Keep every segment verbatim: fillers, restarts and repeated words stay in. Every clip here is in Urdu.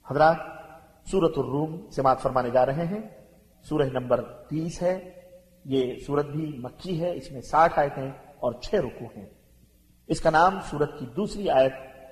حضرات، سورۃ الروم سماعت فرمانے جا رہے ہیں۔ سورہ نمبر تیس ہے۔ یہ سورت بھی مکی ہے، اس میں ساٹھ آیتیں اور چھ رکوع ہیں۔ اس کا نام سورت کی دوسری آیت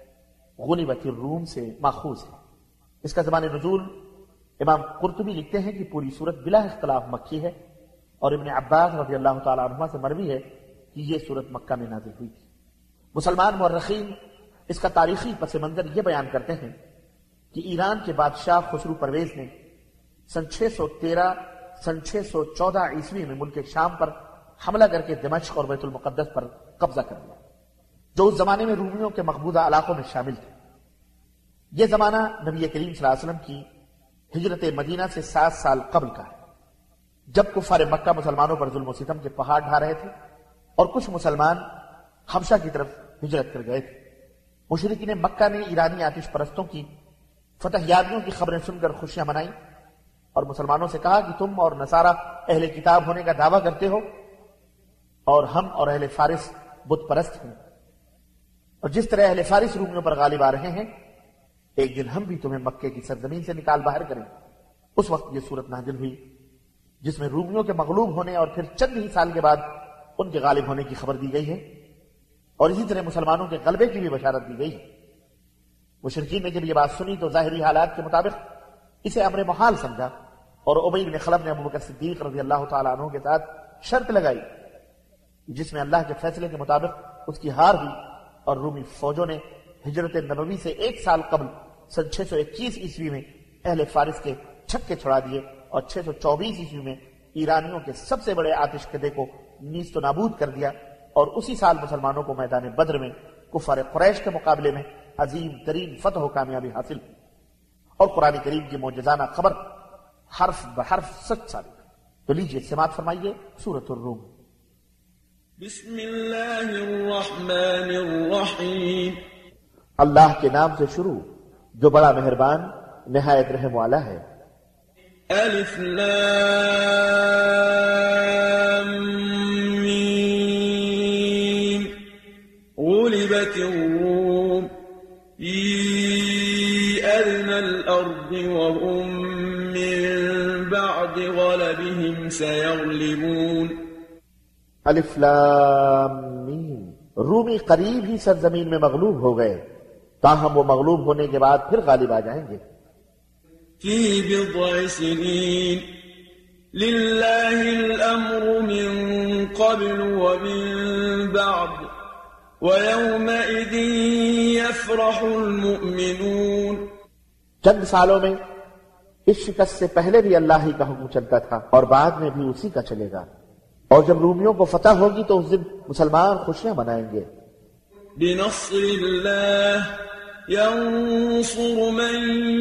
غلبت الروم سے ماخوذ ہے۔ اس کا زمان نزول امام قرطبی لکھتے ہیں کہ پوری سورت بلا اختلاف مکی ہے، اور ابن عباس رضی اللہ تعالیٰ عنہما سے مروی ہے کہ یہ سورت مکہ میں نازل ہوئی تھی۔ مسلمان مورخین اس کا تاریخی پس منظر یہ بیان کرتے ہیں کہ ایران کے بادشاہ خسرو پرویز نے سن چھ سو تیرہ سن چھ سو چودہ عیسوی میں ملک شام پر حملہ کر کے دمشق اور بیت المقدس پر قبضہ کر لیا، جو اس زمانے میں رومیوں کے مقبوضہ علاقوں میں شامل تھے۔ یہ زمانہ نبی کریم صلی اللہ علیہ وسلم کی ہجرت مدینہ سے سات سال قبل کا ہے، جب کفار مکہ مسلمانوں پر ظلم و ستم کے پہاڑ ڈھا رہے تھے اور کچھ مسلمان حبشہ کی طرف ہجرت کر گئے تھے۔ مشرکین مکہ نے ایرانی آتش پرستوں کی فتح یابیوں کی خبریں سن کر خوشیاں منائیں اور مسلمانوں سے کہا کہ تم اور نصارہ اہل کتاب ہونے کا دعویٰ کرتے ہو اور ہم اور اہل فارس بت پرست ہیں، اور جس طرح اہل فارس رومیوں پر غالب آ رہے ہیں، ایک دن ہم بھی تمہیں مکے کی سرزمین سے نکال باہر کریں۔ اس وقت یہ صورت نازل ہوئی جس میں رومیوں کے مغلوب ہونے اور پھر چند ہی سال کے بعد ان کے غالب ہونے کی خبر دی گئی ہے، اور اسی طرح مسلمانوں کے غلبے کی بھی بشارت دی گئی ہے۔ مشرکین نے جب یہ بات سنی تو ظاہری حالات کے مطابق اسے امر محال سمجھا، اور ابی بن خلف نے ابوبکر صدیق رضی اللہ تعالیٰ عنہ کے ساتھ شرط لگائی جس میں اللہ کے فیصلے کے مطابق اس کی ہار ہوئی، اور رومی فوجوں نے ہجرت نبوی سے ایک سال قبل سن چھ سو اکیس عیسوی میں اہل فارس کے چھکے چھڑا دیے، اور چھ سو چوبیس عیسوی میں ایرانیوں کے سب سے بڑے آتش کدے کو نیست و نابود کر دیا، اور اسی سال مسلمانوں کو میدان بدر میں کفار قریش کے مقابلے میں عظیم ترین فتح و کامیابی حاصل ہوئی، اور قرآن کریم کی معجزانہ خبر حرف بحرف سچ ثابت ہے۔ تو لیجئے سماعت فرمائیے سورۃ الروم۔ بسم اللہ الرحمن الرحیم۔ اللہ کے نام سے شروع جو بڑا مہربان نہایت رحم والا ہے۔ الف لام میم۔ غلبت الروم فی ادنى الارض وهم من بعد غلبهم سيغلبون۔ الف لام میم۔ رومی قریب ہی سرزمین میں مغلوب ہو گئے، تاہم وہ مغلوب ہونے کے بعد پھر غالب آ جائیں گے۔ فی بضع سنین للہ الامر من قبل ومن بعد ویومئذ یفرح المؤمنون۔ چند سالوں میں اس شکست سے پہلے بھی اللہ ہی کا حکم چلتا تھا، اور بعد میں بھی اسی کا چلے گا، اور جب رومیوں کو فتح ہوگی تو اس دن مسلمان خوشیاں منائیں گے۔ بنصر اللہ ينصر من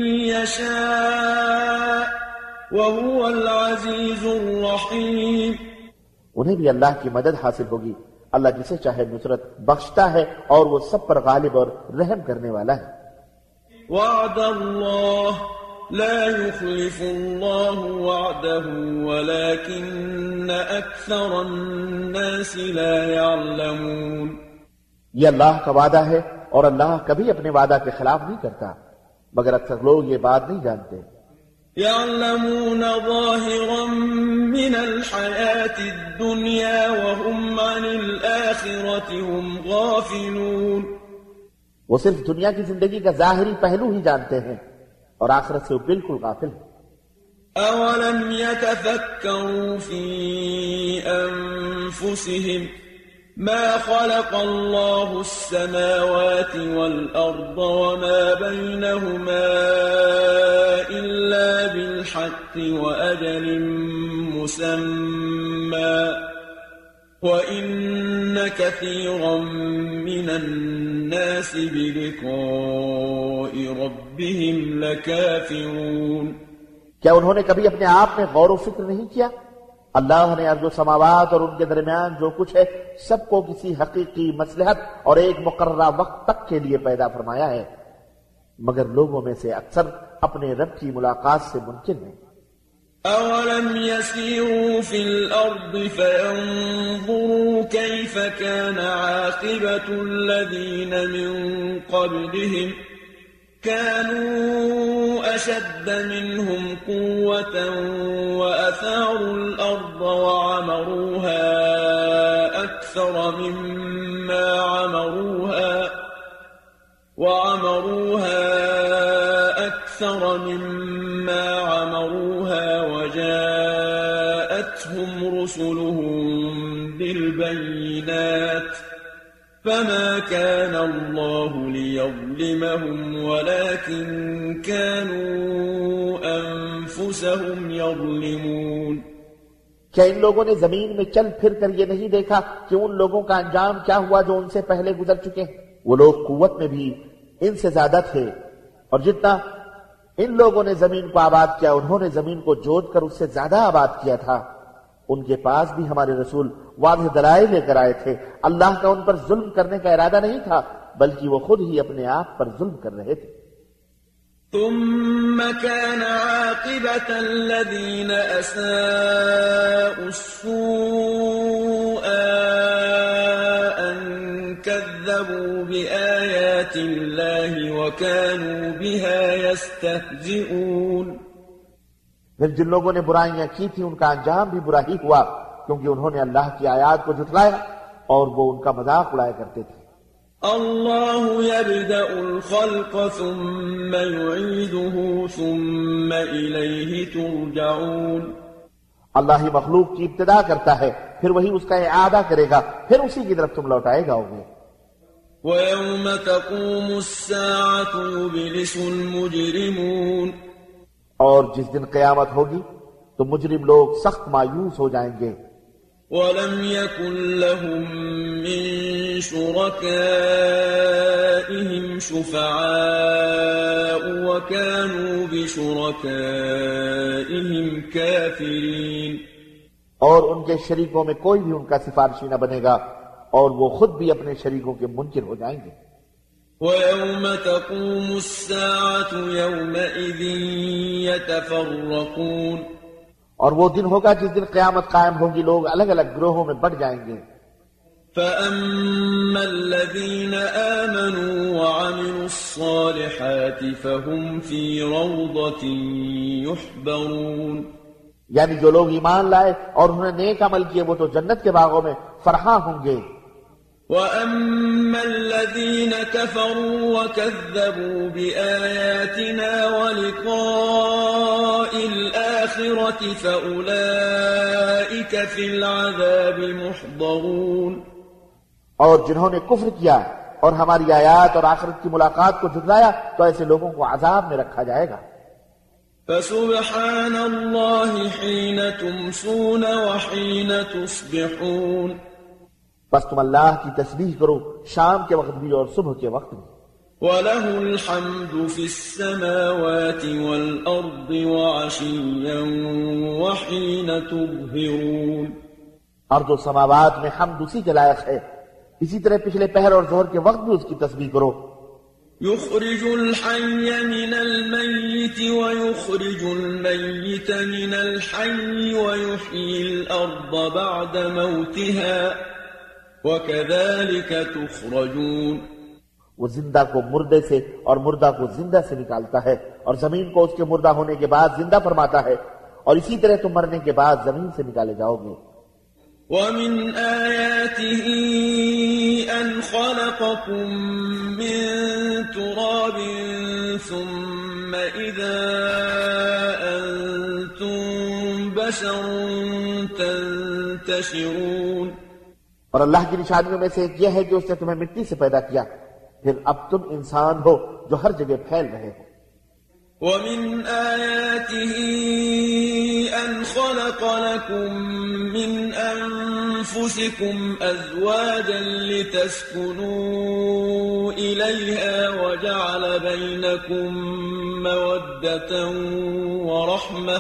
يشاء وهو العزيز الرحيم۔ انہیں بھی اللہ کی مدد حاصل ہوگی، اللہ جسے چاہے نصرت بخشتا ہے اور وہ سب پر غالب اور رحم کرنے والا ہے۔ وعد اللہ لا يخلف اللہ وعده ولكن اکثر الناس لا يعلمون۔ یہ اللہ کا وعدہ ہے اور اللہ کبھی اپنے وعدہ کے خلاف نہیں کرتا، مگر اکثر لوگ یہ بات نہیں جانتے۔ يعلمون ظاهرا من الحياة الدنيا وهم عن الآخرة هم غافلون۔ وہ صرف دنیا کی زندگی کا ظاہری پہلو ہی جانتے ہیں اور آخرت سے وہ بالکل غافل ہیں۔ أولم يتفكروا في أنفسهم ما خلق الله السماوات والأرض وما بينهما إلا بالحق وأجل مسمى وإن كثيرا من الناس بلقاء ربهم لكافرون۔ کیا انہوں نے کبھی اپنے آپ میں غور و فکر نہیں کیا؟ اللہ نے ارض و سماوات اور ان کے درمیان جو کچھ ہے سب کو کسی حقیقی مصلحت اور ایک مقررہ وقت تک کے لیے پیدا فرمایا ہے، مگر لوگوں میں سے اکثر اپنے رب کی ملاقات سے منکر ہیں۔ أولم يسيروا في الأرض فينظروا كيف كان عاقبة الذين من قبلهم كانوا أشد منهم قوة وأثاروا الأرض وعمروها أكثر مما عمروها وعمروها أكثر مما عمروها وجاءتهم رسلهم بالبينات فما كان الله ليظلمهم ولكن كانوا أنفسهم يظلمون کیا ان لوگوں نے زمین میں چل پھر کر یہ نہیں دیکھا کہ ان لوگوں کا انجام کیا ہوا جو ان سے پہلے گزر چکے ہیں؟ وہ لوگ قوت میں بھی ان سے زیادہ تھے، اور جتنا ان لوگوں نے زمین کو آباد کیا انہوں نے زمین کو جوت کر اس سے زیادہ آباد کیا تھا۔ ان کے پاس بھی ہمارے رسول واضح دلائل لے کر آئے تھے۔ اللہ کا ان پر ظلم کرنے کا ارادہ نہیں تھا بلکہ وہ خود ہی اپنے آپ پر ظلم کر رہے تھے۔ ثم كان عاقبة الذين أساءوا السوء أن كذبوا بآيات الله وكانوا بها يستهزئون۔ پھر جن لوگوں نے برائیاں کی تھی ان کا انجام بھی برا ہی ہوا کیونکہ انہوں نے اللہ کی آیات کو جھٹلایا اور وہ ان کا مذاق اڑایا کرتے تھے۔ اللہ يبدأ الخلق ثم يعيده ثم إليه ترجعون۔ اللہ ہی مخلوق کی ابتدا کرتا ہے پھر وہی اس کا اعادہ کرے گا پھر اسی کی طرف تم لوٹائے جاؤ گے۔ وَيَوْمَ تَقُومُ السَّاعَةُ يُبْلِسُ الْمُجْرِمُونَ۔ اور جس دن قیامت ہوگی تو مجرم لوگ سخت مایوس ہو جائیں گے۔ وَلَمْ يَكُنْ لَهُم مِّن شُرَكَائِهِمْ شُفَعَاءُ وَكَانُوا بِشُرَكَائِهِمْ كَافِرِينَ۔ اور ان کے شریکوں میں کوئی بھی ان کا سفارشی نہ بنے گا اور وہ خود بھی اپنے شریکوں کے منکر ہو جائیں گے۔ وَيَوْمَ تَقُومُ السَّاعَةُ يَوْمَئِذٍ يَتَفَرَّقُونَ۔ اور وہ دن ہوگا جس دن قیامت قائم ہوگی لوگ الگ الگ گروہوں میں بٹ جائیں گے۔ فَأَمَّا الَّذِينَ آمَنُوا وَعَمِلُوا الصَّالِحَاتِ فَهُمْ فِي رَوْضَةٍ يُحْبَرُونَ۔ یعنی جو لوگ ایمان لائے اور انہوں نے نیک عمل کیے وہ تو جنت کے باغوں میں فرحاں ہوں گے۔ وَأَمَّا الَّذِينَ كَفَرُوا وَكَذَّبُوا بِآيَاتِنَا وَلِقَاءِ الْآخِرَةِ فَأُولَئِكَ فِي الْعَذَابِ مُحْضَرُونَ۔ اور جنہوں نے کفر کیا اور ہماری آیات اور آخرت کی ملاقات کو جھٹلایا تو ایسے لوگوں کو عذاب میں رکھا جائے گا۔ فَسُبْحَانَ اللَّهِ حِينَ تُمْسُونَ وَحِينَ تُصْبِحُونَ۔ بس تم اللہ کی تسبیح کرو شام کے وقت بھی اور صبح کے وقت بھی۔ وَلَهُ الْحَمْدُ فِي السَّمَاوَاتِ وَالْأَرْضِ وَعَشِيًّا وَحِينَ تُظْهِرُونَ۔ ارض و سماوات میں حمد اسی کے لائق ہے، اسی طرح پچھلے پہر اور ظہر کے وقت بھی اس کی تسبیح کرو۔ يُخْرِجُ الْحَيَّ مِنَ الْمَيِّتِ وَيُخْرِجُ الْمَيِّتَ مِنَ الْحَيِّ وَيُحْيِي الْأَرْضَ بَعْدَ مَوْتِهَا وَكَذَلِكَ تُخْرَجُونَ۔ وہ زندہ کو مردے سے اور مردہ کو زندہ سے نکالتا ہے اور زمین کو اس کے مردہ ہونے کے بعد زندہ فرماتا ہے اور اسی طرح تم مرنے کے بعد زمین سے نکالے جاؤ گے۔ وَمِنْ آيَاتِهِ أَنْ خَلَقَكُم مِّن تُرَابٍ ثُمَّ إِذَا أَنْتُمْ بَشَرٌ تَنْتَشِرُونَ۔ اور اللہ کی نشانیوں میں سے ایک یہ ہے کہ اس نے تمہیں مٹی سے پیدا کیا پھر اب تم انسان ہو جو ہر جگہ پھیل رہے ہو۔ وَمِنْ آيَاتِهِ أَنْ خَلَقَ لَكُم مِّنْ أَنفُسِكُمْ أَزْوَاجًا لِتَسْكُنُوا إِلَيْهَا وَجَعَلَ بَيْنَكُم مَّوَدَّةً وَرَحْمَةً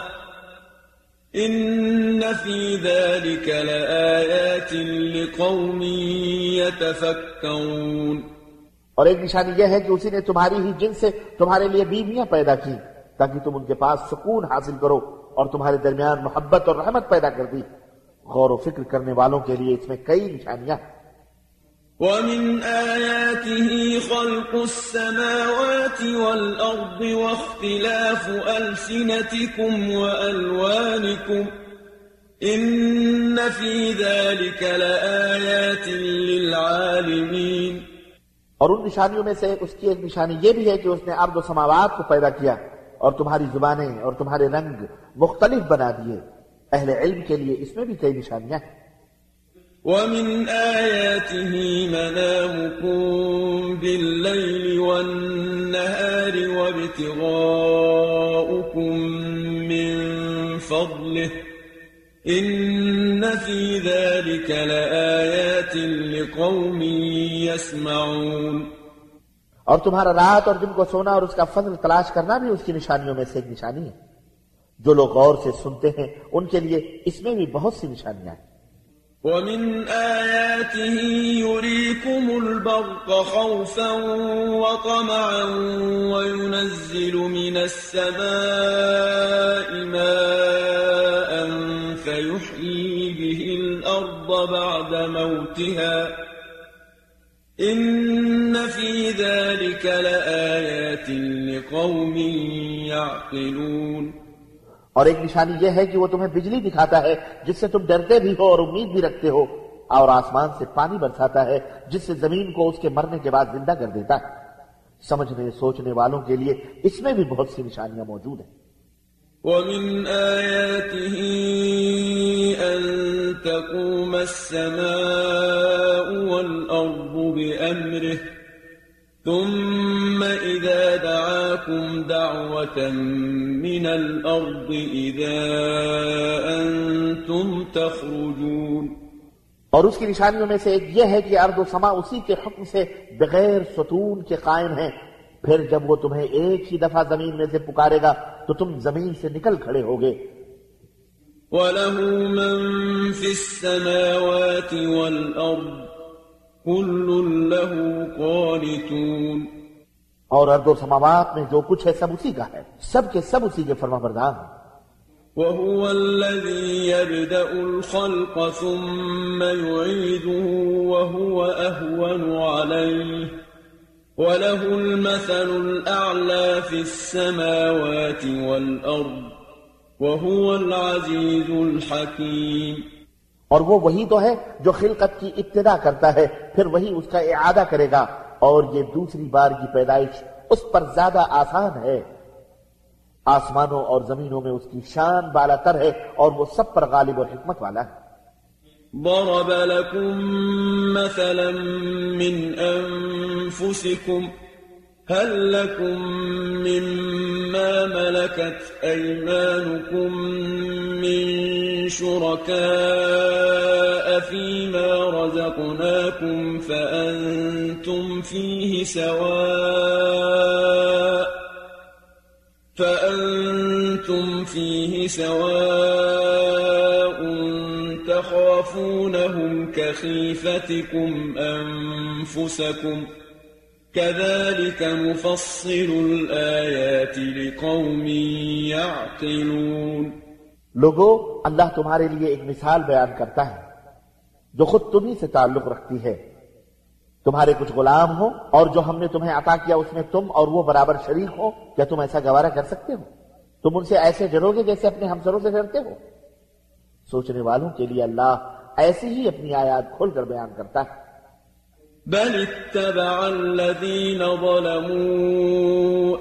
إِنَّ فِي ذَلِكَ لَآيَاتٍ لِقَوْمٍ يَتَفَكَّرُونَ۔ اور ایک نشانی یہ ہے کہ اسی نے تمہاری ہی جن سے تمہارے لیے بیویاں پیدا کی تاکہ تم ان کے پاس سکون حاصل کرو اور تمہارے درمیان محبت اور رحمت پیدا کر دی۔ غور و فکر کرنے والوں کے لیے اس میں کئی نشانیاں ہیں۔ ومن آياته خلق السماوات والأرض واختلاف ألسنتكم وألوانكم إن في ذلك لآيات للعالمين. اور ان نشانیوں میں سے اس کی ایک نشانی یہ بھی ہے کہ اس نے ارض و سماوات کو پیدا کیا اور تمہاری زبانیں اور تمہارے رنگ مختلف بنا دیے. اہل علم کے لیے اس میں بھی کئی نشانیاں ہیں. وَمِنْ آيَاتِهِ مَنَامُكُمْ بِاللَّيْلِ وَالنَّهَارِ وَابْتِغَاؤُكُمْ مِنْ فَضْلِهِ إِنَّ فِي ذَلِكَ لَآيَاتٍ لِقَوْمٍ يَسْمَعُونَ. اور تمہارا رات اور دن کو سونا اور اس کا فضل تلاش کرنا بھی اس کی نشانیوں میں سے ایک نشانی ہے. جو لوگ غور سے سنتے ہیں ان کے لیے اس میں بھی بہت سی نشانیاں ہیں. وَمِنْ آيَاتِهِ يُرِيكُمُ الْبَرْقَ خَوْفًا وَطَمَعًا وَيُنَزِّلُ مِنَ السَّمَاءِ مَاءً فَيُحْيِي بِهِ الْأَرْضَ بَعْدَ مَوْتِهَا إِنَّ فِي ذَلِكَ لَآيَاتٍ لِقَوْمٍ يَعْقِلُونَ. اور ایک نشانی یہ ہے کہ وہ تمہیں بجلی دکھاتا ہے جس سے تم ڈرتے بھی ہو اور امید بھی رکھتے ہو، اور آسمان سے پانی برساتا ہے جس سے زمین کو اس کے مرنے کے بعد زندہ کر دیتا ہے. سمجھنے سوچنے والوں کے لیے اس میں بھی بہت سی نشانیاں موجود ہیں. وَمِنْ آيَاتِهِ أَن تَقُومَ السَّمَاءُ وَالْأَرْضُ بِأَمْرِهِ ثُمَّ إِذَا دَعَاكُمْ دَعْوَةً مِّنَ الْأَرْضِ إِذَا أَنْتُمْ تَخْرُجُونَ. اور اس کی نشانیوں میں سے ایک یہ ہے کہ ارض و سما اسی کے حکم سے بغیر ستون کے قائم ہیں. پھر جب وہ تمہیں ایک ہی دفعہ زمین میں سے پکارے گا تو تم زمین سے نکل کھڑے ہوگے. وَلَهُ مَن فِي السَّمَاوَاتِ وَالْأَرْضِ كُلٌّ لَهُ قَانِتُونَ. اور ارض و سماوات میں جو کچھ ہے سب اسی کا ہے، سب کے سب اسی کے فرما بردار ہیں. وَهُوَ الَّذِي يَبْدَأُ الْخَلْقَ ثُمَّ يُعِيدُهُ وَهُوَ أَهْوَنُ عَلَيْهِ وَلَهُ الْمَثَلُ الْأَعْلَى فِي السَّمَاوَاتِ وَالْأَرْضِ وَهُوَ الْعَزِيزُ الْحَكِيمُ. اور وہ وہی تو ہے جو خلقت کی ابتدا کرتا ہے، پھر وہی اس کا اعادہ کرے گا، اور یہ دوسری بار کی پیدائش اس پر زیادہ آسان ہے. آسمانوں اور زمینوں میں اس کی شان بالا تر ہے اور وہ سب پر غالب اور حکمت والا ہے. ضرب لكم مثلا من أنفسكم هل لكم مما ملكت أيمانكم من شركاء فيما رزقناكم فأنتم فيه سواء فأنتم فيه سواء تخافونهم كخيفتكم أنفسكم كذلك نفصل الآيات لقوم يعقلون. لوگو، اللہ تمہارے لیے ایک مثال بیان کرتا ہے جو خود تمہیں سے تعلق رکھتی ہے. تمہارے کچھ غلام ہو اور جو ہم نے تمہیں عطا کیا اس میں تم اور وہ برابر شریک ہو. کیا تم ایسا گوارا کر سکتے ہو؟ تم ان سے ایسے ڈرو گے جیسے اپنے ہمسروں سے ڈرتے ہو. سوچنے والوں کے لیے اللہ ایسی ہی اپنی آیات کھول کر بیان کرتا ہے. بل اتبع الذين ظلموا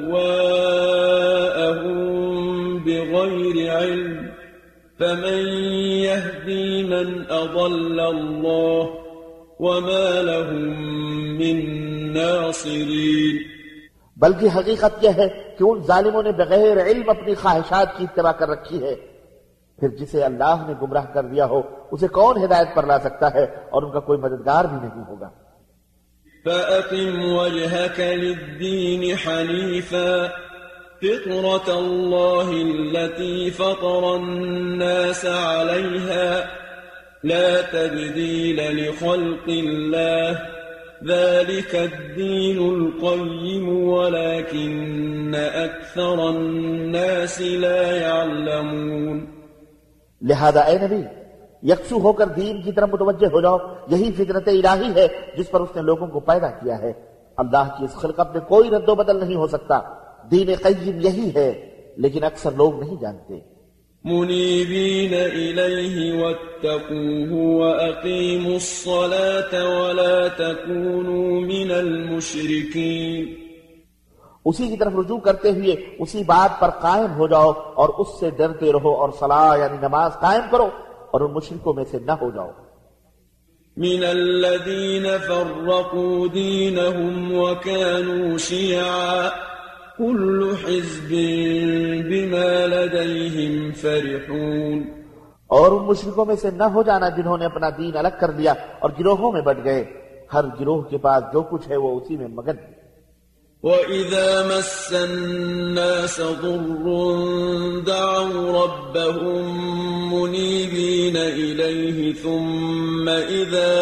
أهواءهم بغير علم فمن يهدي من أضل الله وما لهم من ناصرين. بلکہ حقیقت یہ ہے کہ ان ظالموں نے بغیر علم اپنی خواہشات کی اتباع کر رکھی ہے. پھر جسے اللہ نے گمراہ کر دیا ہو اسے کون ہدایت پر لا سکتا ہے، اور ان کا کوئی مددگار بھی نہیں ہوگا. فَأَقِمْ وَجْهَكَ لِلدِّينِ حَنِيفًا فِطْرَةَ اللَّهِ الَّتِي فَطَرَ النَّاسَ عَلَيْهَا لَا تَبْدِيلَ لِخَلْقِ اللَّهِ ذَلِكَ الدِّينُ الْقَيِّمُ وَلَكِنَّ أَكْثَرَ النَّاسِ لَا يَعْلَمُونَ. لہذا اے نبی، یکسو ہو کر دین کی طرف متوجہ ہو جاؤ، یہی فطرت الہی ہے جس پر اس نے لوگوں کو پیدا کیا ہے۔ اللہ کی اس خلقت میں کوئی رد و بدل نہیں ہو سکتا۔ دین قیم یہی ہے، لیکن اکثر لوگ نہیں جانتے۔ منیبین الیہ واتقوہ واقیموا الصلاة ولا تکونوا من المشرکین۔ اسی کی طرف رجوع کرتے ہوئے اسی بات پر قائم ہو جاؤ اور اس سے ڈرتے رہو، اور صلاح یعنی نماز قائم کرو اور ان مشرکوں میں سے نہ ہو جاؤ۔ من الذین فرقوا دینہم وکانوا شیعا كل حزب بما لديهم فرحون۔ اور ان مشرکوں میں سے نہ ہو جانا جنہوں نے اپنا دین الگ کر لیا اور گروہوں میں بٹ گئے، ہر گروہ کے پاس جو کچھ ہے وہ اسی میں مگن ہے۔ وَإِذَا مَسَّ النَّاسَ ضُرٌّ دَعَوْا رَبَّهُم مُّنِيبِينَ إِلَيْهِ ثُمَّ إِذَا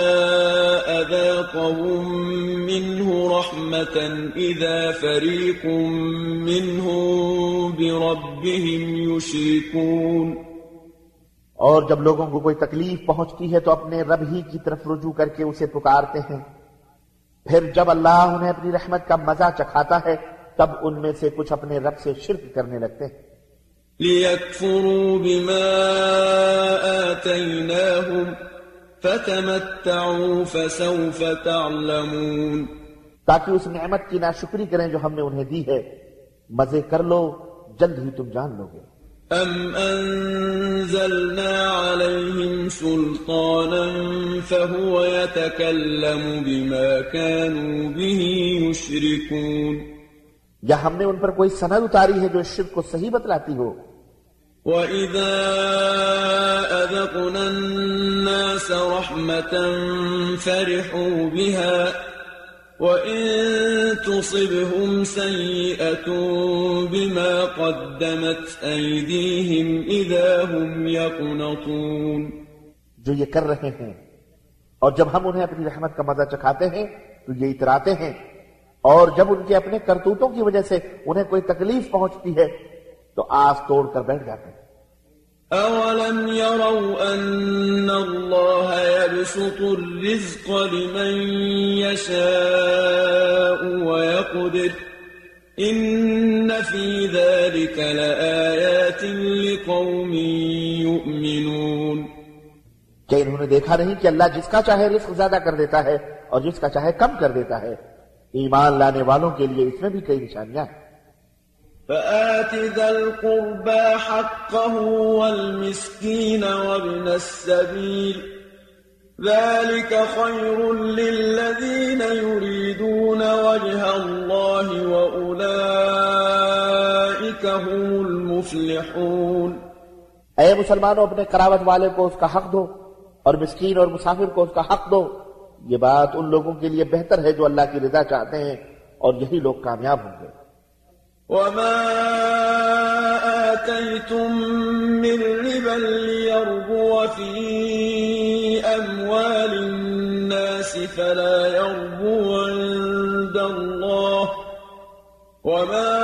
أَذَاقَهُم مِّنْهُ رَحْمَةً إِذَا فَرِيقٌ مِّنْهُم بِرَبِّهِمْ يُشْرِكُونَ۔ اور جب لوگوں کو کوئی تکلیف پہنچتی ہے تو اپنے رب ہی کی طرف رجوع کر کے اسے پکارتے ہیں، پھر جب اللہ انہیں اپنی رحمت کا مزہ چکھاتا ہے تب ان میں سے کچھ اپنے رب سے شرک کرنے لگتے ہیں۔ لِيَكْفُرُوا بِمَا آتَيْنَاهُمْ فَتَمَتَّعُوا فَسَوْفَ تَعْلَمُونَ۔ تاکہ اس نعمت کی ناشکری کریں جو ہم نے انہیں دی ہے، مزے کر لو، جلد ہی تم جان لو گے۔ أَمْ أَنزَلْنَا عَلَيْهِمْ سُلْطَانًا فَهُوَ يَتَكَلَّمُ بِمَا كَانُوا بِهِ يُشْرِكُونَ۔ یا ہم نے ان پر کوئی سند اتاری ہے جو اس شرک کو صحیح بتلاتی ہو۔ وَإِذَا أَذَقْنَا النَّاسَ رَحْمَةً فَرِحُوا بِهَا وَإِن تُصِبْهُمْ سَيِّئَةٌ بِمَا قَدَّمَتْ أَيْدِيهِمْ إِذَا هُمْ يَقْنَطُونَ۔ جو یہ کر رہے ہیں، اور جب ہم انہیں اپنی رحمت کا مزہ چکھاتے ہیں تو یہ اتراتے ہیں، اور جب ان کے اپنے کرتوتوں کی وجہ سے انہیں کوئی تکلیف پہنچتی ہے تو آس توڑ کر بیٹھ جاتے ہیں۔ أَوَلَمْ يَرَوْا أَنَّ اللَّهَ يَبْسُطُ الرِّزْقَ لِمَن يَشَاءُ وَيَقْدِرُ إِنَّ فِي ذَلِكَ لَآيَاتٍ لِقَوْمٍ يُؤْمِنُونَ۔ کیا انہوں نے دیکھا نہیں کہ اللہ جس کا چاہے رزق زیادہ کر دیتا ہے اور جس کا چاہے کم کر دیتا ہے؟ ایمان لانے والوں کے لیے اس میں بھی کئی نشانیاں ہیں۔ فآت ذا القربى حقه والمسكين وابن السبيل ذلك خير للذين يريدون وجه الله وأولئك هم المفلحون۔ اے مسلمانوں، اپنے قرابت والے کو اس کا حق دو اور مسکین اور مسافر کو اس کا حق دو، یہ بات ان لوگوں کے لیے بہتر ہے جو اللہ کی رضا چاہتے ہیں، اور یہی لوگ کامیاب ہوں گے۔ وَمَا آتَيْتُم مِّن رِّبًا لِّيَرْبُوَ فِي أَمْوَالِ النَّاسِ فَلَا يَرْبُو عِندَ اللَّهِ وَمَا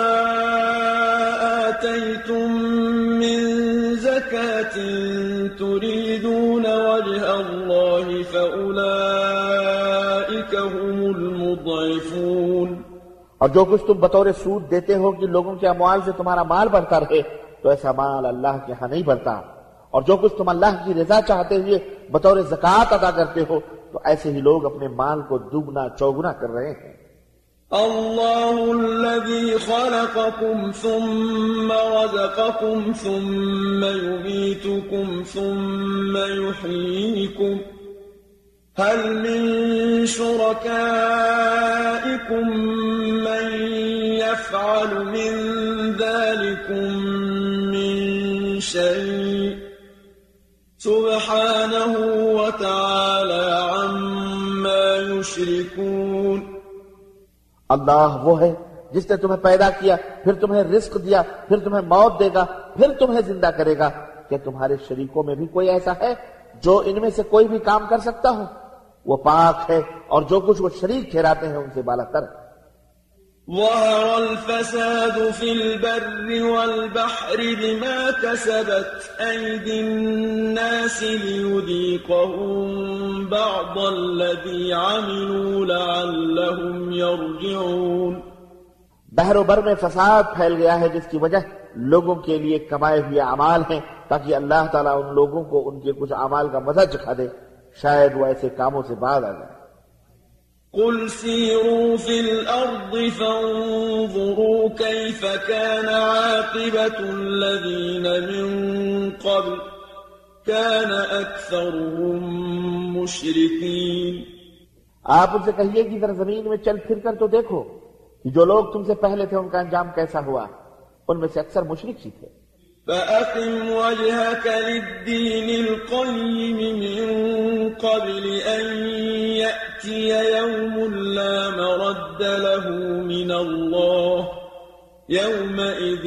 آتَيْتُم مِّن زَكَاةٍ تُرِيدُونَ وَجْهَ اللَّهِ فَأُولَئِكَ هُمُ الْمُضْعِفُونَ۔ اور جو کچھ تم بطور سود دیتے ہو کہ لوگوں کے اموال سے تمہارا مال بڑھتا رہے، تو ایسا مال اللہ کے ہاں نہیں بڑھتا، اور جو کچھ تم اللہ کی رضا چاہتے ہوئے بطور زکوٰۃ ادا کرتے ہو تو ایسے ہی لوگ اپنے مال کو دوگنا چوگنا کر رہے ہیں۔ اللہ الذي خلقكم ثم رزقكم ثم يميتكم ثم يحييكم هل من شركائكم من يفعل من ذلكم من شيء سبحانه وتعالى عما يشركون۔ اللہ وہ ہے جس نے تمہیں پیدا کیا، پھر تمہیں رزق دیا، پھر تمہیں موت دے گا، پھر تمہیں زندہ کرے گا۔ کیا تمہارے شریکوں میں بھی کوئی ایسا ہے جو ان میں سے کوئی بھی کام کر سکتا ہو؟ وہ پاک ہے اور جو کچھ وہ شریک ٹھہراتے ہیں ان سے بالا تر۔ ظهر الفساد في البر والبحر بما كسبت أيدي الناس ليذيقهم بعض الذي عملوا لعلهم يرجعون. بحر و بر میں فساد پھیل گیا ہے جس کی وجہ لوگوں کے لیے کمائے ہوئے اعمال ہیں تاکہ اللہ تعالیٰ ان لوگوں کو ان کے کچھ اعمال کا مزہ چکھا دے، شاید وہ ایسے کاموں سے باز آ جائے۔ قل سيروا في الأرض فانظروا كيف كان عاقبة الذين من قبل كان أكثرهم مشركين۔ آپ ان سے کہیے کہ ذرا زمین میں چل پھر کر تو دیکھو کہ جو لوگ تم سے پہلے تھے ان کا انجام کیسا ہوا، ان میں سے اکثر مشرک ہی تھے۔ فأقم وجهك للدين القيم من قبل أن يأتي يوم لا مرد له من الله يومئذ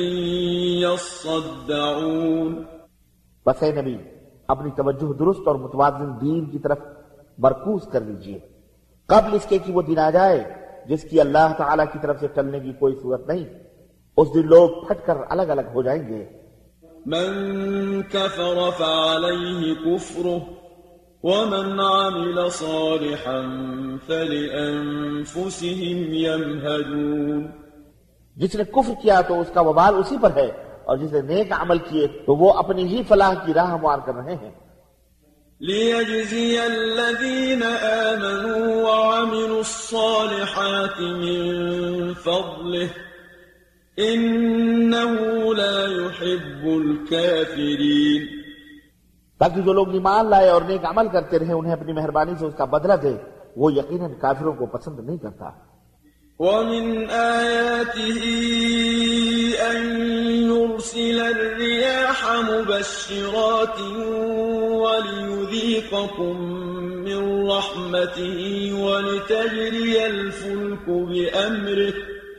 يصدعون۔ بس اے نبی اپنی توجہ درست اور متوازن دین کی طرف مرکوز کر لیجئے قبل اس کے کہ وہ دن آ جائے جس کی اللہ تعالیٰ کی طرف سے ٹلنے کی کوئی صورت نہیں۔ اس دن لوگ پھٹ کر الگ الگ ہو جائیں گے۔ من كفر فعليه كفره ومن عمل صالحا فلأنفسهم يمهدون۔ جس نے کفر کیا تو اس کا وبال اسی پر ہے، اور جس نے نیک عمل کیے تو وہ اپنی ہی فلاح کی راہ ہموار کر رہے ہیں۔ ليجزي الذين آمنوا وعملوا الصالحات من فضله إنه لا يحب الكافرين۔ تاکہ جو لوگ ایمان لائے اور نیک عمل کرتے رہے انہیں اپنی مہربانی سے اس کا بدلہ دے، وہ یقیناً کافروں کو پسند نہیں کرتا۔ ومن آياته أن يرسل الرياح مبشرات وليذيقكم من رحمته ولتجري الفلك بأمره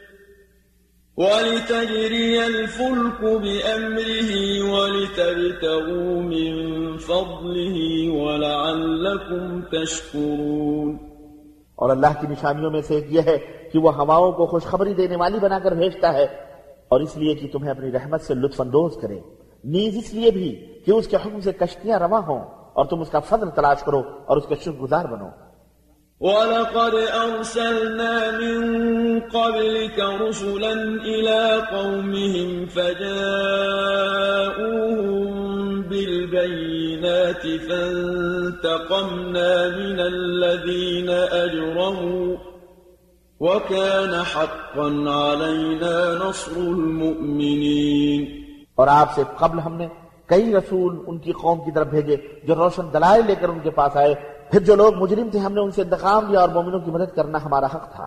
ولتجري الفلك بأمره ولتبتغوا من فضله ولعلكم تشكرون۔ اور اللہ کی نشانیوں میں سے ایک یہ ہے کہ وہ ہواؤں کو خوشخبری دینے والی بنا کر بھیجتا ہے، اور اس لیے کہ تمہیں اپنی رحمت سے لطف اندوز کرے، نیز اس لیے بھی کہ اس کے حکم سے کشتیاں رواں ہوں اور تم اس کا فضل تلاش کرو اور اس کے شکر گزار بنو۔ وَلَقَدْ أَرْسَلْنَا مِن قَبْلِكَ رُسُلًا إِلَىٰ قَوْمِهِمْ فَجَاءُوهُم بِالْبَيِّنَاتِ فَانتَقَمْنَا مِنَ الَّذِينَ أَجْرَمُوا وَكَانَ حَقًّا عَلَيْنَا نَصْرُ الْمُؤْمِنِينَ۔ اور آپ سے قبل ہم نے کئی رسول ان کی قوم کی طرف بھیجے جو روشن دلائل لے کر ان کے پاس آئے، پھر جو لوگ مجرم تھے ہم نے ان سے انتقام لیا اور مومنوں کی مدد کرنا ہمارا حق تھا۔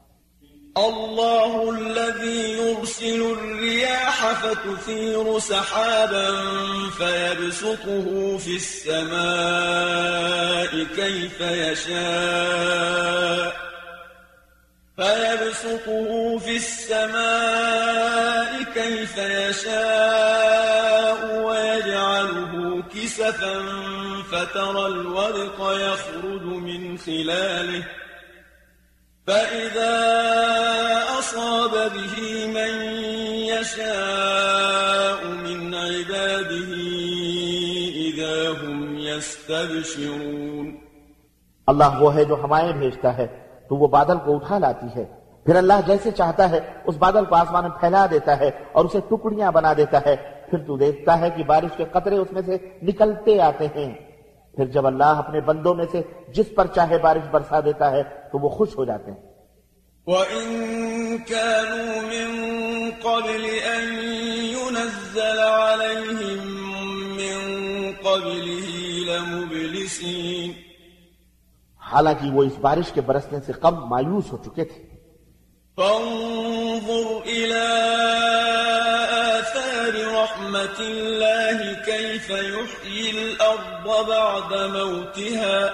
الله الذي يرسل الرياح فتثير سحابا فيبسطه في السماء كيف يشاء فيبسطه في السماء كيف يشاء ويجعله كسفا فترى الودق يخرج من خلاله فإذا أصاب به من يشاء من عباده إذا هم يستبشرون۔ اللہ وہ ہے جو ہوائیں بھیجتا ہے تو وہ بادل کو اٹھا لاتی ہے، پھر اللہ جیسے چاہتا ہے اس بادل کو آسمان میں پھیلا دیتا ہے اور اسے ٹکڑیاں بنا دیتا ہے، پھر تو دیکھتا ہے کہ بارش کے قطرے اس میں سے نکلتے آتے ہیں، پھر جب اللہ اپنے بندوں میں سے جس پر چاہے بارش برسا دیتا ہے تو وہ خوش ہو جاتے ہیں۔ وَإِن كَانُوا مِن قَبْلِ أَن يُنَزَّلَ عَلَيْهِم مِّن قَبْلِهِ لَمُبْلِسِينَ۔ حالانکہ وہ اس بارش کے برسنے سے قبل مایوس ہو چکے تھے۔ فانظر إلى آثار رحمة الله كيف يحيي الأرض بعد موتها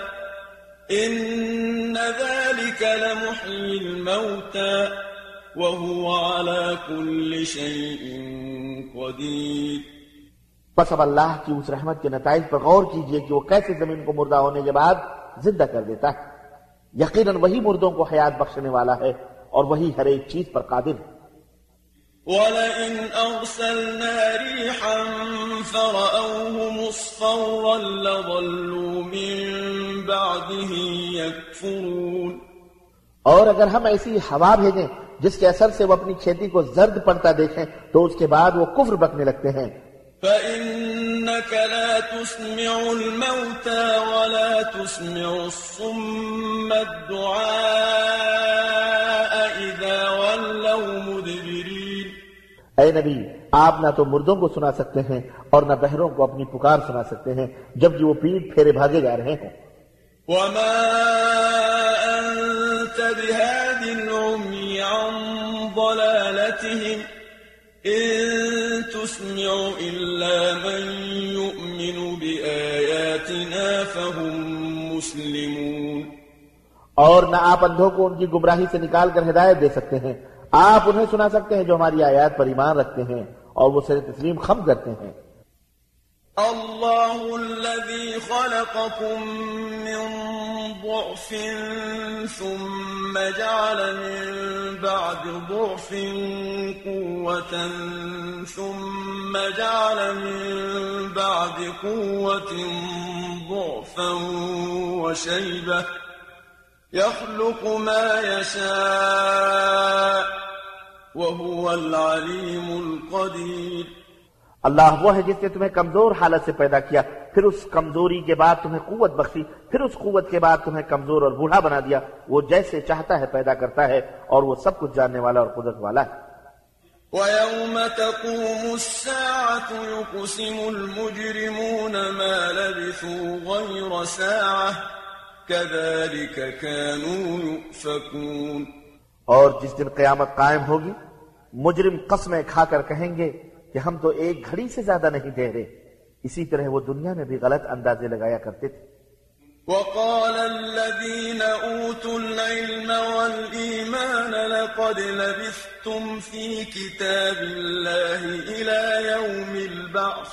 إن ذلك لمحيي الموتى وهو على كل شيء قدير۔ پس اب اللہ کی اس رحمت کے نتائج پر غور کیجئے کہ وہ کیسے زمین کو مردہ ہونے کے بعد زندہ کر دیتا ہے۔ یقیناً وہی مردوں کو حیات بخشنے والا ہے اور وہی ہر ایک چیز پر قادر ہے۔ وَلَئِنْ أَرْسَلْنَا رِيحًا فَرَأَوْهُ مُصْفَرًّا لَظَلُّوا مِنْ بَعْدِهِ يَكْفُرُونَ، اور اگر ہم ایسی ہوا بھیجیں جس کے اثر سے وہ اپنی کھیتی کو زرد پڑتا دیکھیں تو اس کے بعد وہ کفر بکنے لگتے ہیں۔ فَإِنَّكَ لَا تُسْمِعُ الْمَوْتَى وَلَا تُسْمِعُ الصُّمَّ الدُّعَاءَ إِذَا وَلَّوْا مُدْبِرِينَ۔ اے نبی، آپ نہ تو مردوں کو سنا سکتے ہیں اور نہ بہروں کو اپنی پکار سنا سکتے ہیں جبکہ وہ پیٹ پھیرے بھاگے جا رہے ہیں۔ وَمَا أَنْتَ بِهَادِ الْعُمْيِ عَنْ ضَلَالَتِهِمْ إِن تُسْمِعُ إِلَّا مَن يُؤْمِنُ بِآيَاتِنَا فَهُمْ مُسْلِمُونَ۔ اور نہ آپ اندھوں کو ان کی گمراہی سے نکال کر ہدایت دے سکتے ہیں، آپ انہیں سنا سکتے ہیں جو ہماری آیات پر ایمان رکھتے ہیں اور وہ سر تسلیم خم کرتے ہیں۔ اللہ الذی خلقکم من ضعف ثم جعل من بعد ضعف قوة ثم جعل من بعد قوة ضعفا وشیبة يخلق ما يشاء وهو العليم القدير۔ اللہ وہ ہے جس نے تمہیں کمزور حالت سے پیدا کیا، پھر اس کمزوری کے بعد تمہیں قوت بخشی، پھر اس قوت کے بعد تمہیں کمزور اور بوڑھا بنا دیا۔ وہ جیسے چاہتا ہے پیدا کرتا ہے اور وہ سب کچھ جاننے والا اور قدرت والا ہے۔ وَيَوْمَ تَقُومُ السَّاعَةُ يُقْسِمُ الْمُجْرِمُونَ مَا لَبِثُوا غَيْرَ سَاعَةٍ كَذَلِكَ كَانُوا يُؤْفَكُونَ۔ اور جس دن قیامت قائم ہوگی مجرم قسمیں کھا کر کہیں گے کہ ہم تو ایک گھڑی سے زیادہ نہیں ٹھہرے، اسی طرح وہ دنیا میں بھی غلط اندازے لگایا کرتے تھے۔ وَقَالَ الَّذِينَ أُوتُوا الْعِلْمَ وَالْإِيمَانَ لَقَدْ لَبِثْتُمْ فِي كِتَابِ اللَّهِ إِلَى يَوْمِ الْبَعْثِ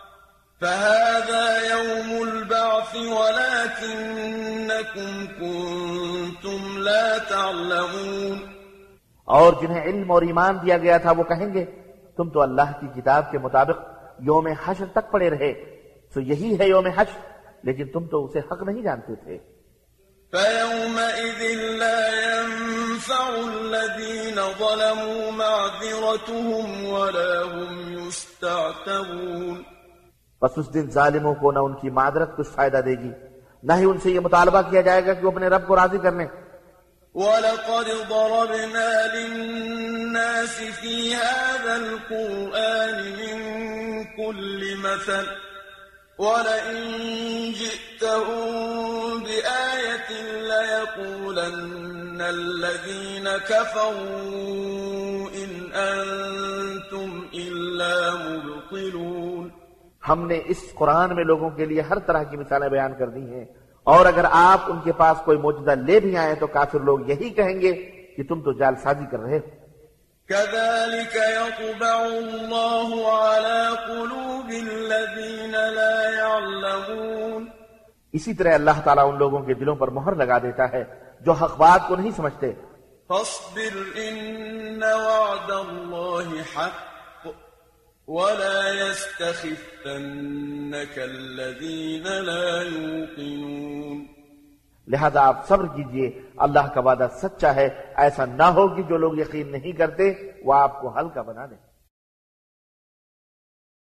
فَهَذَا يَوْمُ الْبَعْثِ وَلَكِنَّكُمْ كُنْتُمْ لَا تَعْلَمُونَ۔ اور جنہیں علم اور ایمان دیا گیا تھا وہ کہیں گے تم تو اللہ کی کتاب کے مطابق یوم حشر تک پڑے رہے، تو یہی ہے یوم حشر، لیکن تم تو اسے حق نہیں جانتے تھے۔ فَيَوْمَئِذٍ لَا يَنفَعُ الَّذِينَ ظَلَمُوا مَعْذِرَتُهُمْ وَلَا هُمْ يُسْتَعْتَبُونَ۔ پس اس دن ظالموں کو نہ ان کی معذرت کچھ فائدہ دے گی، نہ ہی ان سے یہ مطالبہ کیا جائے گا کہ وہ اپنے رب کو راضی کر لیں۔ وَلَقَدْ ضَرَبْنَا لِلنَّاسِ فِي هَذَا الْقُرْآنِ مِنْ كُلِّ مَثَلٍ وَلَئِنْ جِئْتَهُمْ بِآيَةٍ لَيَقُولَنَّ الَّذِينَ كَفَرُوا إِنْ أَنْتُمْ إِلَّا مُبْطِلُونَ۔ ہم نے اس قرآن میں لوگوں کے لیے ہر طرح کی مثالیں بیان کر دی ہیں، اور اگر آپ ان کے پاس کوئی معجزہ لے بھی آئیں تو کافر لوگ یہی کہیں گے کہ تم تو جال سازی کر رہے ہو۔ كَذَلِكَ يَطْبَعُ اللَّهُ عَلَى قُلُوبِ الَّذِينَ لَا يَعْلَمُونَ۔ اسی طرح اللہ تعالیٰ ان لوگوں کے دلوں پر مہر لگا دیتا ہے جو حق بات کو نہیں سمجھتے۔ فَاصْبِرْ إِنَّ وَعْدَ اللَّهِ حَقٌّ وَلَا يَسْتَخِفَّنَّكَ الَّذِينَ لَا يُوقِنُونَ۔ لہذا آپ صبر کیجئے، اللہ کا وعدہ سچا ہے، ایسا نہ ہو کہ جو لوگ یقین نہیں کرتے وہ آپ کو ہلکا بنا دیں۔